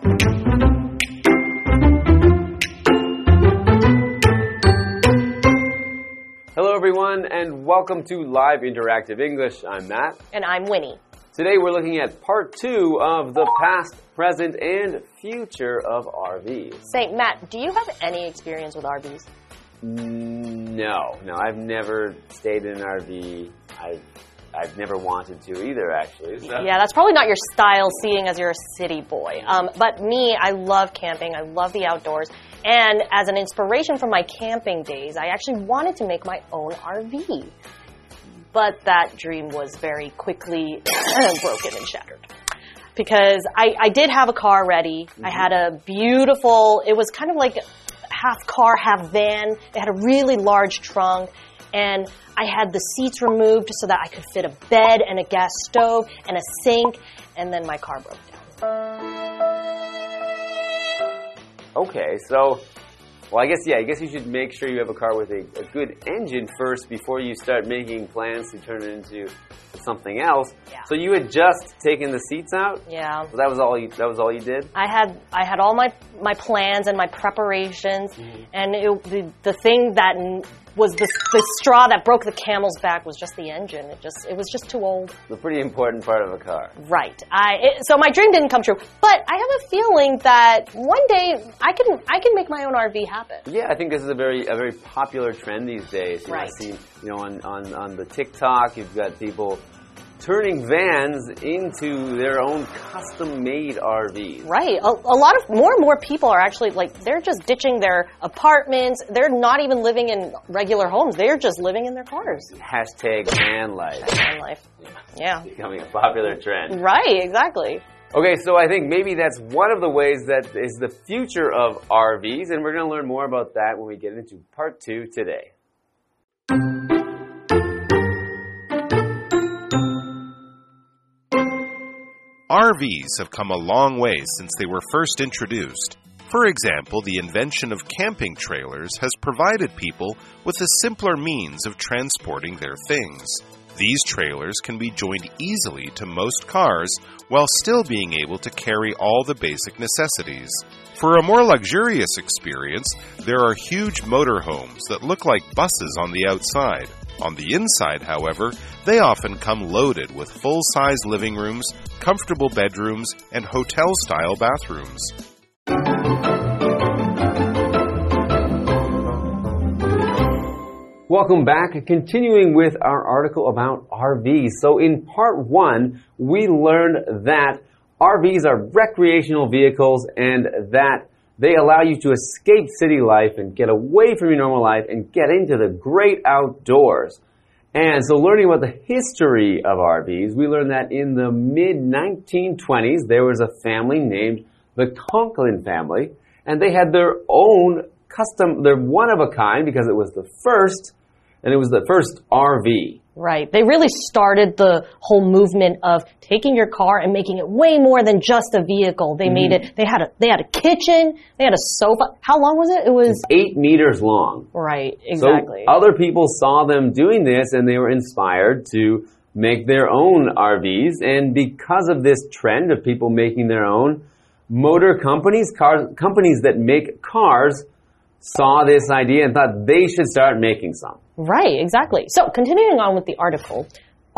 Hello everyone and welcome to Live Interactive English. I'm Matt. And I'm Winnie. Today we're looking at part 2 of the past, present, and future of RVs. Say, Matt, do you have any experience with RVs? No, I've never stayed in an RV. I've never wanted to either, actually. So. Yeah, that's probably not your style, seeing as you're a city boy. But me, I love camping. I love the outdoors. And as an inspiration from my camping days, I actually wanted to make my own RV. But that dream was very quickly broken and shattered. Because I did have a car ready. Mm-hmm. I had a beautiful, it was kind of like half car, half van. It had a really large trunk. And I had the seats removed so that I could fit a bed and a gas stove and a sink. And then my car broke down. Okay, so, well, I guess you should make sure you have a car with a good engine first before you start making plans to turn it into something else. Yeah. So you had just taken the seats out? Yeah. So that was all you did? I had all my plans and my preparations, mm-hmm. and the thing that was the straw that broke the camel's back was just the engine. It was just too old. The pretty important part of a car. Right. So my dream didn't come true, but I have a feeling that one day I can make my own RV happen. Yeah, I think this is a very popular trend these days. Right. I see, on the TikTok, you've got people turning vans into their own custom-made RVs. Right. A lot of more and more people are actually they're just ditching their apartments. They're not even living in regular homes. They're just living in their cars. Hashtag van life. Van life. Yeah. It's becoming a popular trend. Right. Exactly. Okay, so I think maybe that's one of the ways that is the future of RVs, and we're going to learn more about that when we get into part 2 today. RVs have come a long way since they were first introduced. For example, the invention of camping trailers has provided people with a simpler means of transporting their things. These trailers can be joined easily to most cars while still being able to carry all the basic necessities. For a more luxurious experience, there are huge motorhomes that look like buses on the outside. On the inside, however, they often come loaded with full-size living rooms, comfortable bedrooms, and hotel-style bathrooms. Welcome back. Continuing with our article about RVs. So in part 1, we learned that RVs are recreational vehicles and that they allow you to escape city life and get away from your normal life and get into the great outdoors. And so learning about the history of RVs, we learned that in the mid-1920s, there was a family named the Conklin family, and they had their own they're one of a kind because it was the first, and it was the first RV. Right. They really started the whole movement of taking your car and making it way more than just a vehicle. They made it, they had a kitchen, they had a sofa. How long was it? It was 8 meters long. Right, exactly. So other people saw them doing this and they were inspired to make their own RVs. And because of this trend of people making their own, motor companies, companies that make cars, saw this idea and thought they should start making some. Right, exactly. So, continuing on with the article,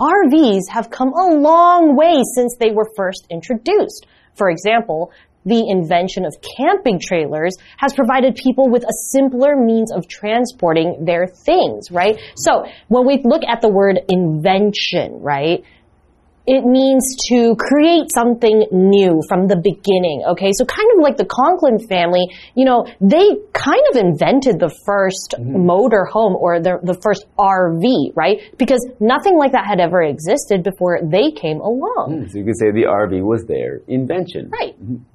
RVs have come a long way since they were first introduced. For example, the invention of camping trailers has provided people with a simpler means of transporting their things, right? So, when we look at the word invention, right, it means to create something new from the beginning, okay? So kind of like the Conklin family, they kind of invented the first motor home or the first RV, right? Because nothing like that had ever existed before they came along. So you could say the RV was their invention. Right.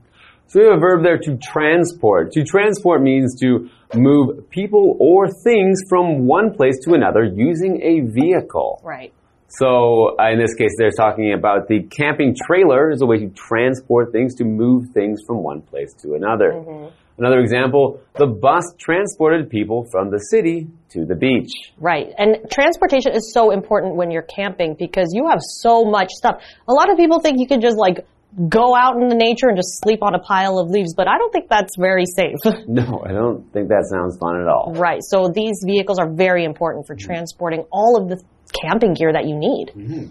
So we have a verb there, to transport. To transport means to move people or things from one place to another using a vehicle. Right. So in this case, they're talking about the camping trailer as a way to transport things, to move things from one place to another. Another example, the bus transported people from the city to the beach. Right. And transportation is so important when you're camping because you have so much stuff. A lot of people think you can just go out in the nature and just sleep on a pile of leaves, but I don't think that's very safe. No, I don't think that sounds fun at all. Right. So these vehicles are very important for transporting all of the camping gear that you need. Mm-hmm.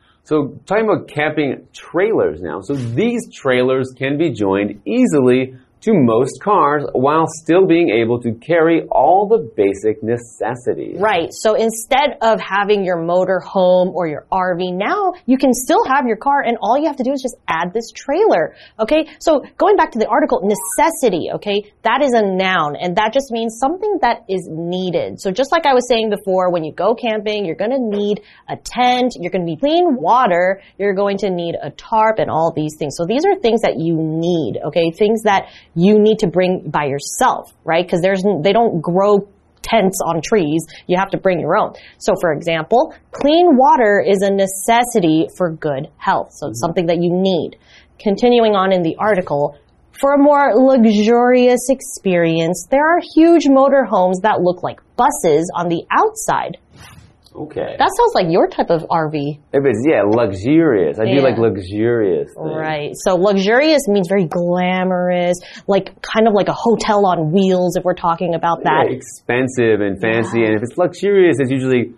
So talking about camping trailers now. So these trailers can be joined easily to most cars while still being able to carry all the basic necessities. Right. So instead of having your motor home or your RV, now you can still have your car and all you have to do is just add this trailer. Okay. So going back to the article, necessity. Okay. That is a noun and that just means something that is needed. So just like I was saying before, when you go camping, you're going to need a tent, you're going to need clean water, you're going to need a tarp and all these things. So these are things that you need. Okay. Things that you need to bring by yourself, right? Because they don't grow tents on trees. You have to bring your own. So for example, clean water is a necessity for good health. So it's something that you need. Continuing on in the article, for a more luxurious experience, there are huge motorhomes that look like buses on the outside. Okay. That sounds like your type of RV. If it's, luxurious. I do like luxurious things. Right. So luxurious means very glamorous, kind of like a hotel on wheels if we're talking about that. Yeah, expensive and fancy. And if it's luxurious, it's usually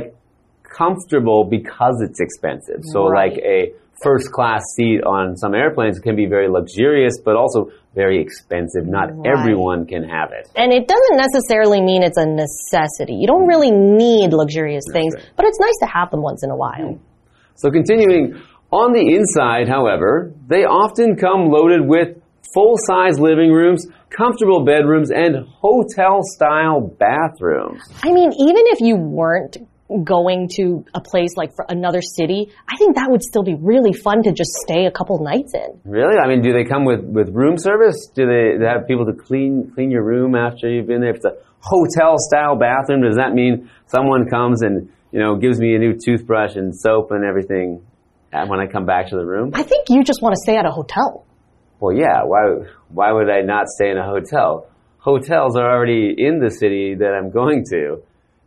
comfortable because it's expensive. So like a first class seat on some airplanes can be very luxurious, but also very expensive. Not everyone can have it. And it doesn't necessarily mean it's a necessity. You don't really need luxurious things, but it's nice to have them once in a while. So continuing, on the inside, however, they often come loaded with full-size living rooms, comfortable bedrooms, and hotel-style bathrooms. I mean, even if you weren't going to a place like for another city, I think that would still be really fun to just stay a couple nights in. Really? I mean, do they come with room service? Do they have people to clean your room after you've been there? If it's a hotel-style bathroom, does that mean someone comes and, gives me a new toothbrush and soap and everything when I come back to the room? I think you just want to stay at a hotel. Well, yeah. Why would I not stay in a hotel? Hotels are already in the city that I'm going to,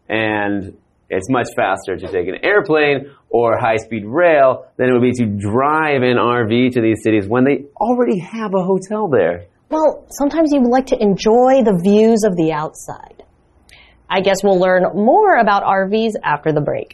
and it's much faster to take an airplane or high-speed rail than it would be to drive an RV to these cities when they already have a hotel there. Well, sometimes you would like to enjoy the views of the outside. I guess we'll learn more about RVs after the break.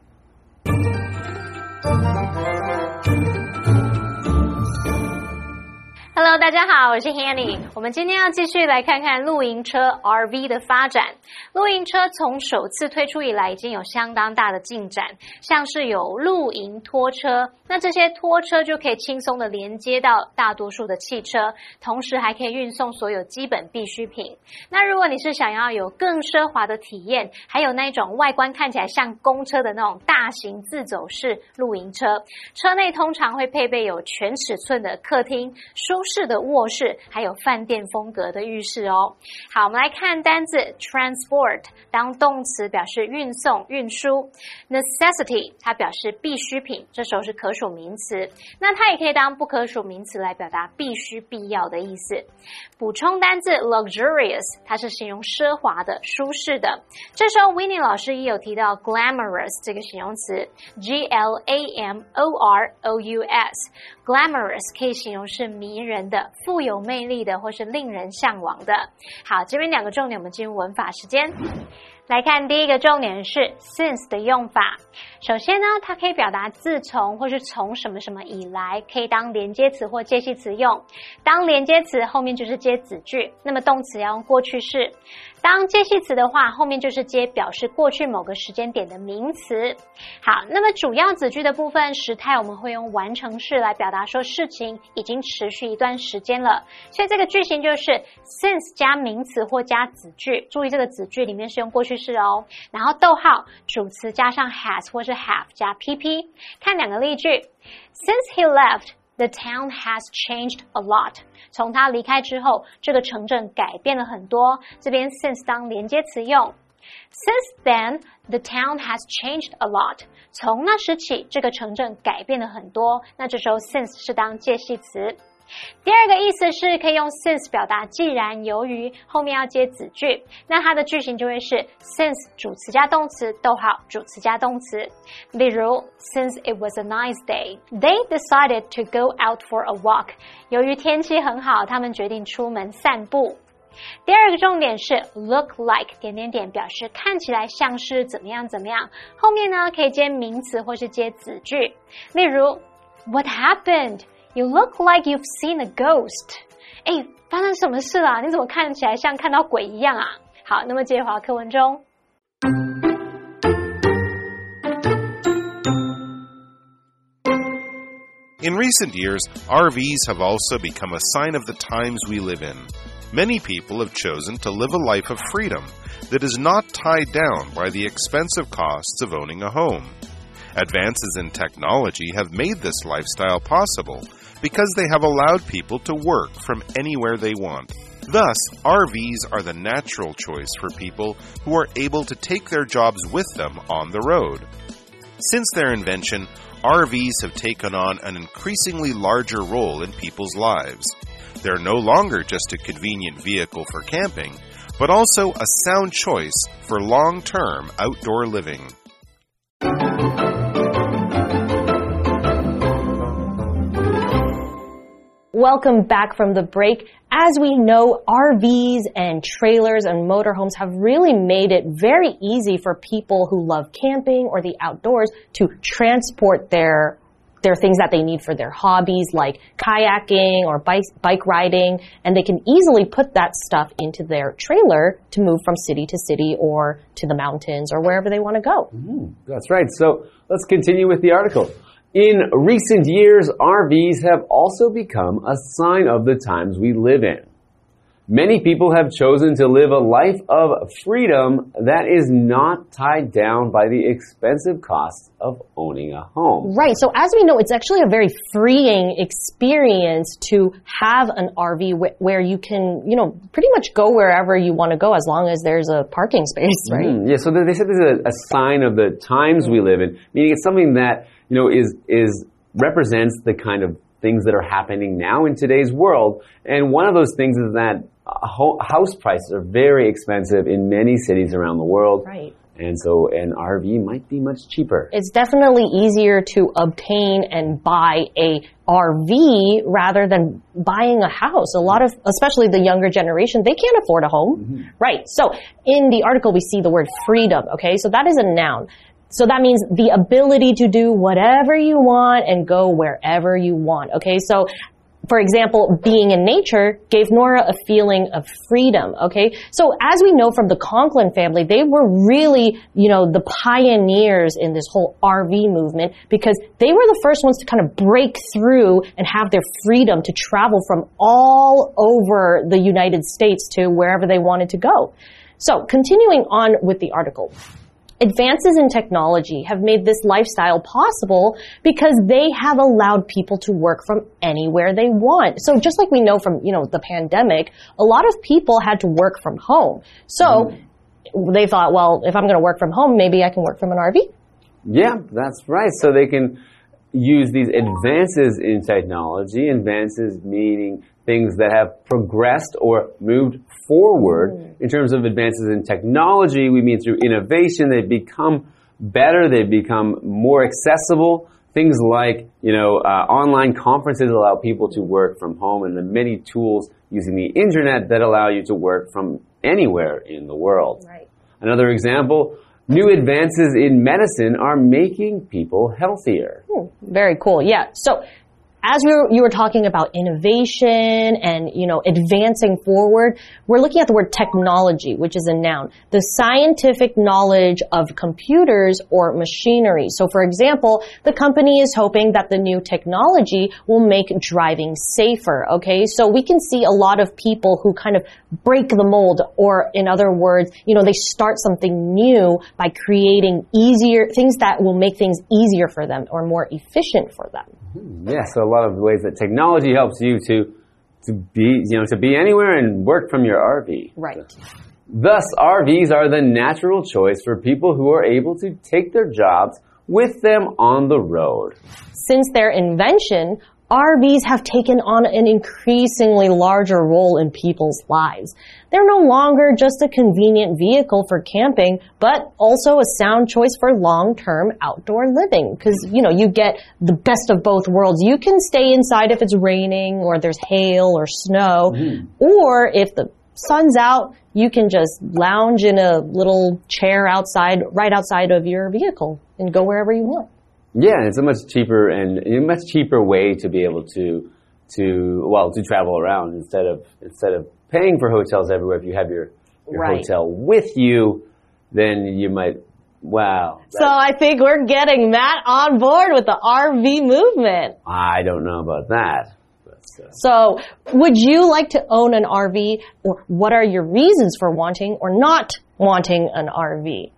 Hello， 大家好，我是 Hanny。我们今天要继续来看看露營車 RV 的發展。露營車從首次推出以來，已經有相當大的進展，像是有露營拖車，那這些拖車就可以輕鬆的連接到大多數的汽車，同時還可以運送所有基本必需品。那如果你是想要有更奢華的體驗，還有那一種外觀看起來像公車的那種大型自走式露營車，車內通常會配備有全尺寸的客廳、舒適的臥室，還有飯店風格的浴室哦。好，我們來看單字 transport 當動詞表示運送、運輸 necessity 它表示必需品，這時候是可數名詞，那它也可以當不可數名詞來表達必須、必要的意思。補充單字 luxurious 它是形容奢華的、舒適的，這時候 Winnie 老師也有提到 glamorous 這個形容詞 glamorous glamorous 可以形容是迷人的、富有魅力的或是令人向往的。好，這邊兩個重點，我們進入文法時間。來看第一個重點是 since 的用法。首先呢，它可以表達自從或是從什麼什麼以來，可以當連接詞或介系詞用。當連接詞後面就是接子句，那麼動詞要用過去式。當介系詞的話，後面就是接表示過去某個時間點的名詞。好，那麼主要子句的部分時態我們會用完成式來表達說事情已經持續一段時間了，所以這個句型就是 since 加名詞或加子句，注意這個子句裡面是用過去式哦，然後逗號主詞加上 has 或是 have 加 pp。看兩個例句 Since he left, the town has changed a lot. 從他離開之後，這個城鎮改變了很多。這邊 since 當連接詞用。Since then, the town has changed a lot. 從那時起，這個城鎮改變了很多。那這時候 since 是當介系詞。 第二個意思是可以用 since 表達既然由於後面要接子句，那它的句型就會是 since 主詞加動詞，逗號主詞加動詞。例如 since it was a nice day, they decided to go out for a walk. 由於天氣很好，他們決定出門散步。第二個重點是 look like 點點點，表示看起來像是怎麼樣怎麼樣，後面呢可以接名詞或是接子句。例如 What happened? You look like you've seen a ghost. 誒，發生什麼事啦？你怎麼看起來像看到鬼一樣啊？好，那麼接回到課文中。 In recent years, RVs have also become a sign of the times we live in. Many people have chosen to live a life of freedom that is not tied down by the expensive costs of owning a home. Advances in technology have made this lifestyle possible because they have allowed people to work from anywhere they want. Thus, RVs are the natural choice for people who are able to take their jobs with them on the road. Since their invention, RVs have taken on an increasingly larger role in people's lives. They're no longer just a convenient vehicle for camping, but also a sound choice for long-term outdoor living. Welcome back from the break. As we know, RVs and trailers and motorhomes have really made it very easy for people who love camping or the outdoors to transport their things that they need for their hobbies like kayaking or bike riding, and they can easily put that stuff into their trailer to move from city to city or to the mountains or wherever they want to go. That's right. So let's continue with the article. In recent years, RVs have also become a sign of the times we live in. Many people have chosen to live a life of freedom that is not tied down by the expensive costs of owning a home. Right. So as we know, it's actually a very freeing experience to have an RV where you can, pretty much go wherever you want to go as long as there's a parking space, right? Yeah, so they said this is a sign of the times we live in, meaning it's something that, is represents the kind of things that are happening now in today's world. And one of those things is that house prices are very expensive in many cities around the world. Right. And so an RV might be much cheaper. It's definitely easier to obtain and buy a RV rather than buying a house. A lot of, especially the younger generation, they can't afford a home. Right. So in the article, we see the word freedom. Okay. So that is a noun. So that means the ability to do whatever you want and go wherever you want. Okay. So for example, being in nature gave Nora a feeling of freedom, okay? So as we know from the Conklin family, they were really, the pioneers in this whole RV movement because they were the first ones to kind of break through and have their freedom to travel from all over the United States to wherever they wanted to go. So continuing on with the article. Advances in technology have made this lifestyle possible because they have allowed people to work from anywhere they want. So just like we know from, the pandemic, a lot of people had to work from home. So they thought, well, if I'm going to work from home, maybe I can work from an RV. Yeah, that's right. So they can use these advances in technology, advances meaning things that have progressed or moved forward. In terms of advances in technology, we mean through innovation. They've become better. They've become more accessible. Things like, online conferences allow people to work from home, and the many tools using the internet that allow you to work from anywhere in the world. Right. Another example, new advances in medicine are making people healthier. Very cool. Yeah. So as you were talking about innovation and, advancing forward, we're looking at the word technology, which is a noun. The scientific knowledge of computers or machinery. So for example, the company is hoping that the new technology will make driving safer, okay? So we can see a lot of people who kind of break the mold, or in other words, they start something new by creating things that will make things easier for them or more efficient for them. Yeah, so a lot of ways that technology helps you to be anywhere and work from your RV. Right. Thus, RVs are the natural choice for people who are able to take their jobs with them on the road. Since their invention, RVs have taken on an increasingly larger role in people's lives. They're no longer just a convenient vehicle for camping, but also a sound choice for long-term outdoor living. Because, you get the best of both worlds. You can stay inside if it's raining or there's hail or snow. Or if the sun's out, you can just lounge in a little chair right outside of your vehicle and go wherever you want. Yeah, it's a much cheaper way to be able to travel around instead of paying for hotels everywhere. If you have your hotel with you, then you might. Wow. So I think we're getting Matt on board with the RV movement. I don't know about that. So would you like to own an RV, or what are your reasons for wanting or not wanting an RV?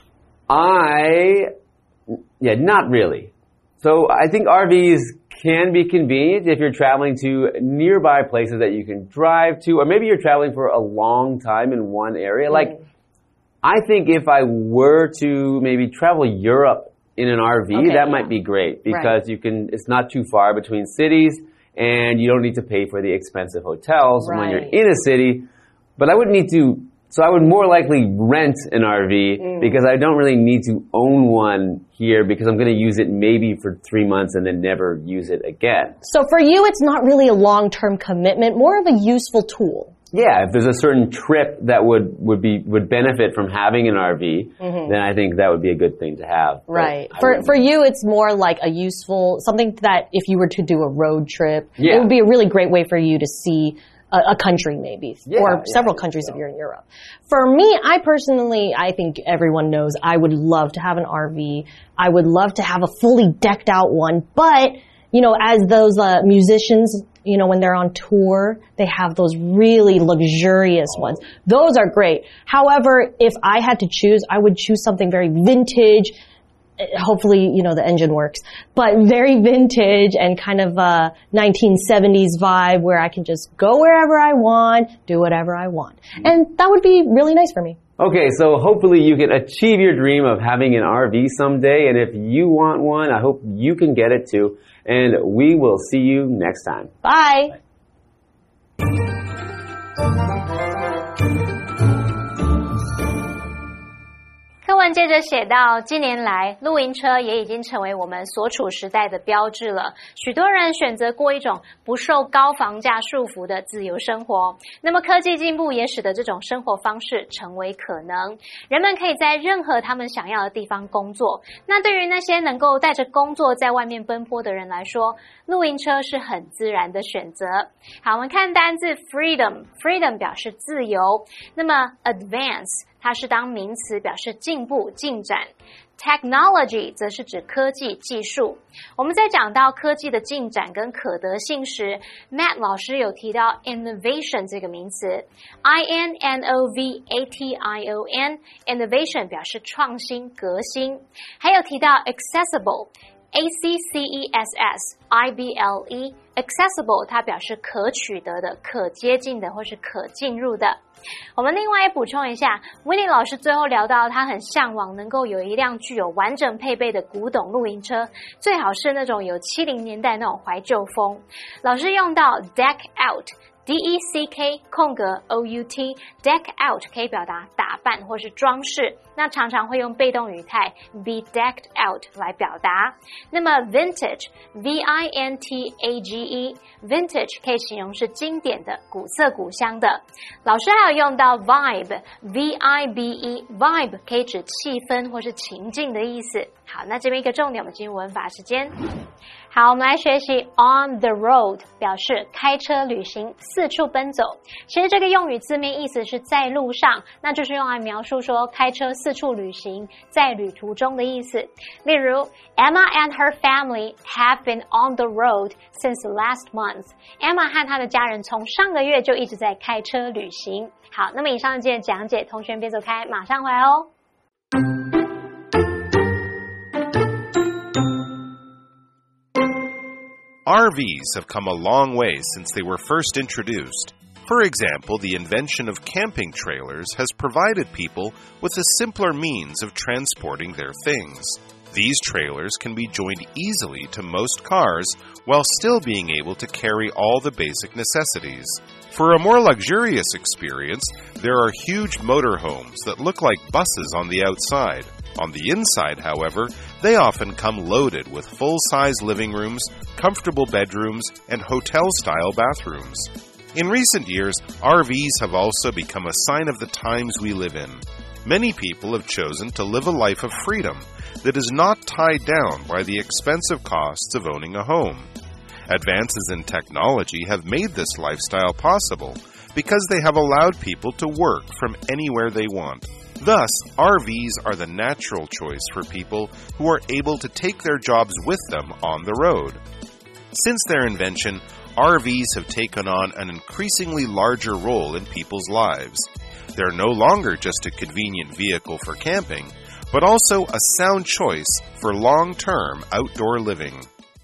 Not really. So I think RVs can be convenient if you're traveling to nearby places that you can drive to, or maybe you're traveling for a long time in one area. Like, I think if I were to maybe travel Europe in an RV, that might be great because it's not too far between cities and you don't need to pay for the expensive hotels when you're in a city. But I wouldn't need to. So I would more likely rent an RV because I don't really need to own one here because I'm going to use it maybe for 3 months and then never use it again. So for you, it's not really a long-term commitment, more of a useful tool. Yeah, if there's a certain trip that would benefit from having an RV, then I think that would be a good thing to have. Right. For you, it's more like a useful, something that if you were to do a road trip, it would be a really great way for you to see a country maybe, or several countries if you're in Europe. For me, I think everyone knows I would love to have an RV. I would love to have a fully decked out one, but, as those musicians, when they're on tour, they have those really luxurious ones. Those are great. However, if I had to choose, I would choose something very vintage. Hopefully, the engine works, but very vintage and kind of a 1970s vibe where I can just go wherever I want, do whatever I want. And that would be really nice for me. Okay, so hopefully you can achieve your dream of having an RV someday. And if you want one, I hope you can get it too. And we will see you next time. Bye. 課文接着寫到，近年來，露營車也已經成為我們所處時代的標誌了。許多人選擇過一種不受高房價束縛的自由生活。那麼科技進步也使得這種生活方式成為可能。人們可以在任何他們想要的地方工作。那對於那些能夠帶着工作在外面奔波的人來說，露營車是很自然的選擇。好，我們看單字 freedom 表示自由。那麼 advance 它是當名詞，表示進步、進展。Technology 則是指科技、技術。我們在講到科技的進展跟可得性時 ，Matt 老師有提到 innovation 這個名詞 ，innovation 表示創新、革新。還有提到 accessible，accessible 它表示可取得的、可接近的或是可進入的。我們另外也補充一下 Winnie 老師最後聊到他很向往能夠有一輛具有完整配備的古董露營車，最好是那種有70年代那種懷舊風。老師用到 deck out DECK OUT deck out 可以表達打扮或是裝飾，那常常會用被動語態 be decked out 來表達。那麼 vintage vintage 可以形容是經典的、古色古香的。老師還有用到 vibe vibe 可以指氣氛或是情境的意思。好，那這邊一個重點，我們進入文法時間。好，我們來學習 on the road 表示開車旅行、四處奔走。其實這個用語字面意思是在路上，那就是用來描述說開車四處旅行，在旅途中的意思。例如 Emma and her family have been on the road since last month. Emma 和她的家人從上個月就一直在開車旅行。好，那麼以上這件講解，同學別走開，馬上回來哦。 RVs have come a long way since they were first introduced. For example, the invention of camping trailers has provided people with a simpler means of transporting their things. These trailers can be joined easily to most cars while still being able to carry all the basic necessities. For a more luxurious experience, there are huge motorhomes that look like buses on the outside. On the inside, however, they often come loaded with full-size living rooms, comfortable bedrooms, and hotel-style bathrooms. In recent years, RVs have also become a sign of the times we live in. Many people have chosen to live a life of freedom that is not tied down by the expensive costs of owning a home. Advances in technology have made this lifestyle possible because they have allowed people to work from anywhere they want. Thus, RVs are the natural choice for people who are able to take their jobs with them on the road. Since their invention, RVs have taken on an increasingly larger role in people's lives. They're no longer just a convenient vehicle for camping, but also a sound choice for long-term outdoor living.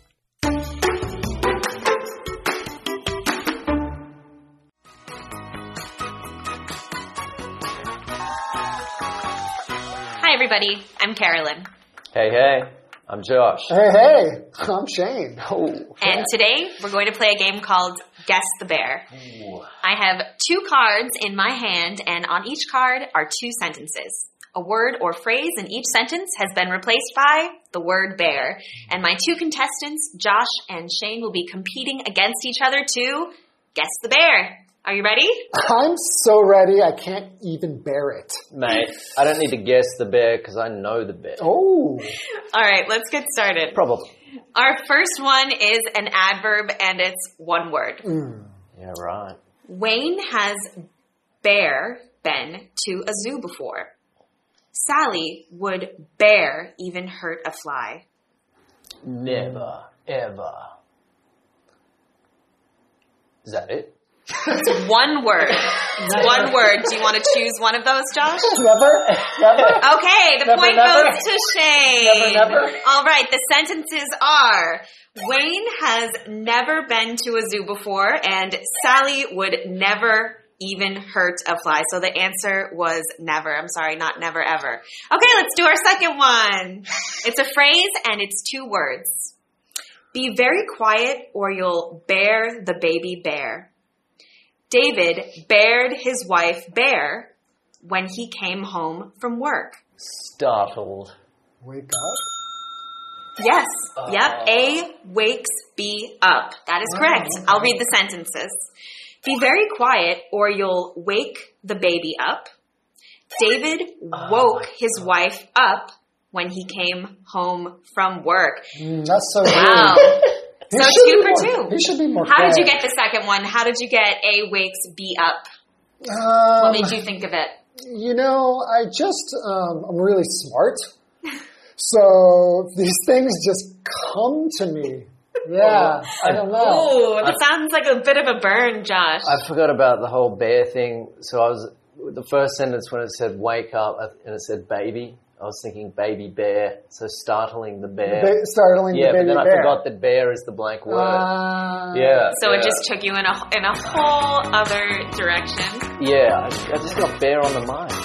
Hi everybody, I'm Carolyn. Hey, I'm Josh. Hey, I'm Shane. Oh, And today we're going to play a game called Guess the Bear. Ooh. I have 2 cards in my hand, and on each card are 2 sentences. A word or phrase in each sentence has been replaced by the word bear. And my 2 contestants, Josh and Shane, will be competing against each other to guess the bear. Are you ready? I'm so ready, I can't even bear it. Mate, I don't need to guess the bear because I know the bear. Oh. All right, let's get started. Probably. Our first one is an adverb, and it's one word. Yeah, right. Wayne has been to a zoo before. Sally would bear even hurt a fly. Never, ever. Is that it? It's one word. It's one word. Do you want to choose one of those, Josh? Never? Okay, the point never. goes to Shane. Never. All right, the sentences are, Wayne has never been to a zoo before, and Sally would never even hurt a fly. So the answer was never. I'm sorry, not never ever. Okay, let's do our second one. It's a phrase, and it's 2 words. Be very quiet, or you'll bear the baby bear. David bared his wife Bear when he came home from work. Startled. Wake up? Yes. Yep. A wakes B up. That is correct. I'll read the sentences. Be very quiet or you'll wake the baby up. David woke his wife up when he came home from work. That's so Wow. weird. So 2 for 2. He should be more How did you fair. get the second one? How did you get A wakes B up? What made you think of it? You know, I'm really smart. So these things just come to me. Yeah, I don't know. Ooh, that sounds like a bit of a burn, Josh. I forgot about the whole bear thing. So the first sentence when it said wake up and it said baby, I was thinking baby bear, so startling the bear. Startling the baby but then bear. I forgot that bear is the blank word. Yeah. So it just took you in a whole other direction. Yeah, I just got bear on the mind.